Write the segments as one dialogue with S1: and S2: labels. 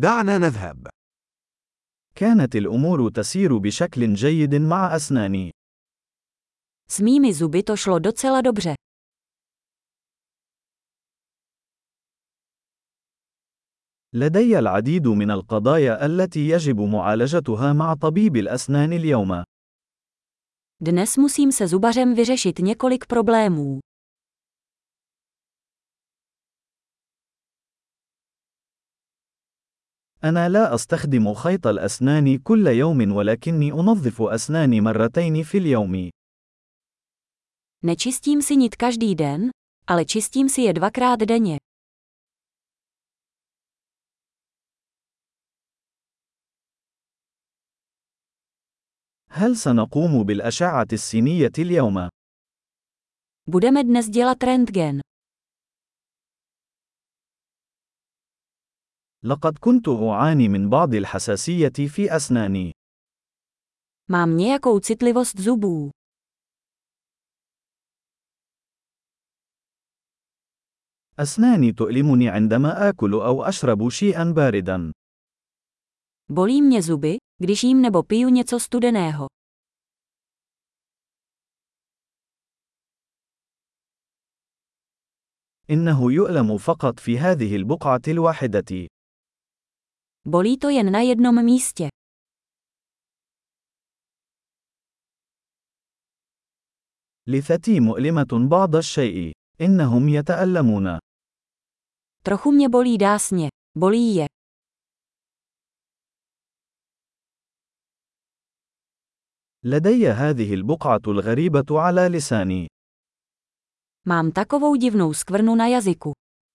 S1: دعنا نذهب.
S2: كانت الأمور تسير بشكل جيد مع أسناني.
S3: S mými zuby to šlo docela dobře.
S2: لدي العديد من القضايا التي يجب معالجتها مع طبيب الأسنان اليوم.
S3: Dnes musím se zubařem vyřešit několik problémů.
S2: أنا لا أستخدم خيط الأسنان كل يوم ولكني أنظف أسناني مرتين في اليوم.
S3: Nečistím si nit každý den, ale čistím si je 2krát denně.
S2: هل سنقوم بالأشعة السينية اليوم؟
S3: Budeme dnes dělat rentgen.
S2: لقد كنت أعاني من بعض الحساسية في أسناني.
S3: Mám nějakou citlivost zubů.
S2: أسناني تؤلمني عندما آكل أو أشرب شيئا باردا.
S3: Bolí mě zuby, když jím nebo piju něco studeného.
S2: إنه يؤلم فقط في هذه البقعة الواحدة.
S3: Bolí to jen na jednom místě.
S2: لثتي مؤلمة بعض الشيء. إنهم يتألمون.
S3: Trochu mě bolí dásně. Bolí je.
S2: لدي هذه البقعة الغريبة على لساني.
S3: Mám takovou divnou skvrnu na jazyku.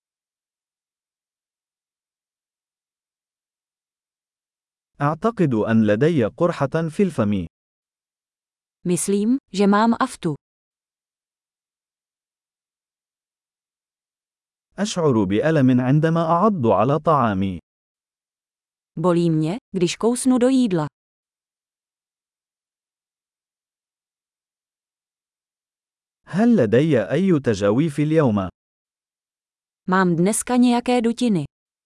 S2: أعتقد أن لدي قرحة في الفم.
S3: Myslím, že mám aftu.
S2: أشعر بألم عندما أعض على طعامي.
S3: Bolí mě, když kousnu do jídla.
S2: هل لدي أي تجاويف اليوم؟
S3: Mám dneska nějaké dutiny.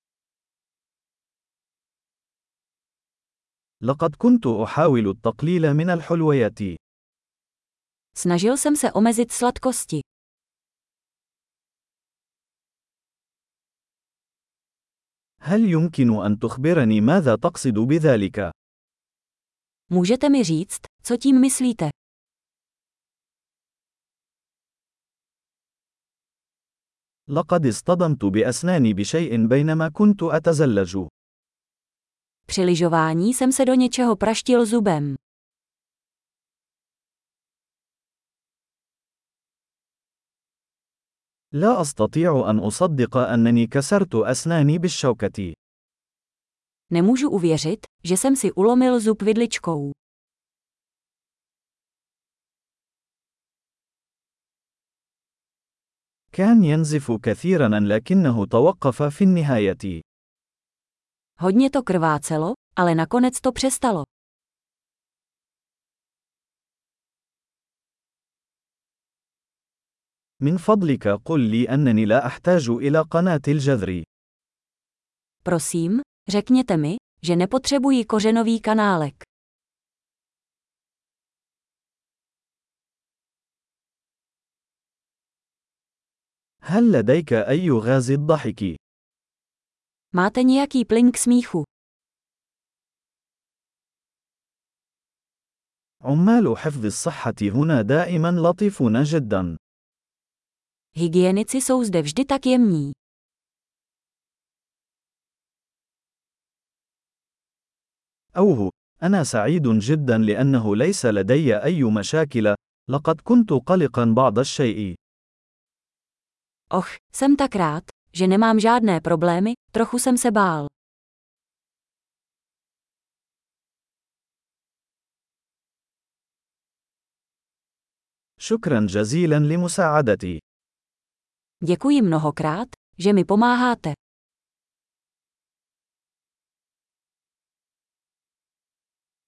S2: لقد كنت أحاول التقليل من الحلويات.
S3: Snažil jsem se omezit sladkosti.
S2: هل يمكن أن تخبرني ماذا تقصد بذلك؟
S3: Můžete mi říct, co tím myslíte?
S2: لقد اصطدمت بأسناني بشيء بينما كنت أتزلج.
S3: Při lyžování jsem se do něčeho praštil zubem.
S2: لا أستطيع أن أصدق أنني كسرت أسناني بالشوكة.
S3: Nemůžu uvěřit, že jsem si ulomil zub vidličkou.
S2: كان ينزف كثيرا لكنه توقف في النهاية.
S3: Hodně to krvácelo, ale nakonec to přestalo.
S2: من فضلك قل لي أنني لا أحتاج إلى قناة الجذر.
S3: Prosím, řekněte mi, že nepotřebuji kořenový kanálek.
S2: هل لديك أي غاز الضحك؟
S3: Máte nějaký plyn k smíchu?
S2: عمال حفظ الصحة هنا دائما لطيفون جدا.
S3: Hygienici jsou zde vždy tak jemní.
S2: أوه، أنا سعيد جدا لأنه ليس لدي أي مشاكل، لقد كنت قلقا بعض الشيء.
S3: Och, jsem tak rád, že nemám žádné problémy, trochu jsem se bál.
S2: شكرا جزيلا لمساعدتي.
S3: Děkuji mnohokrát, že mi pomáháte.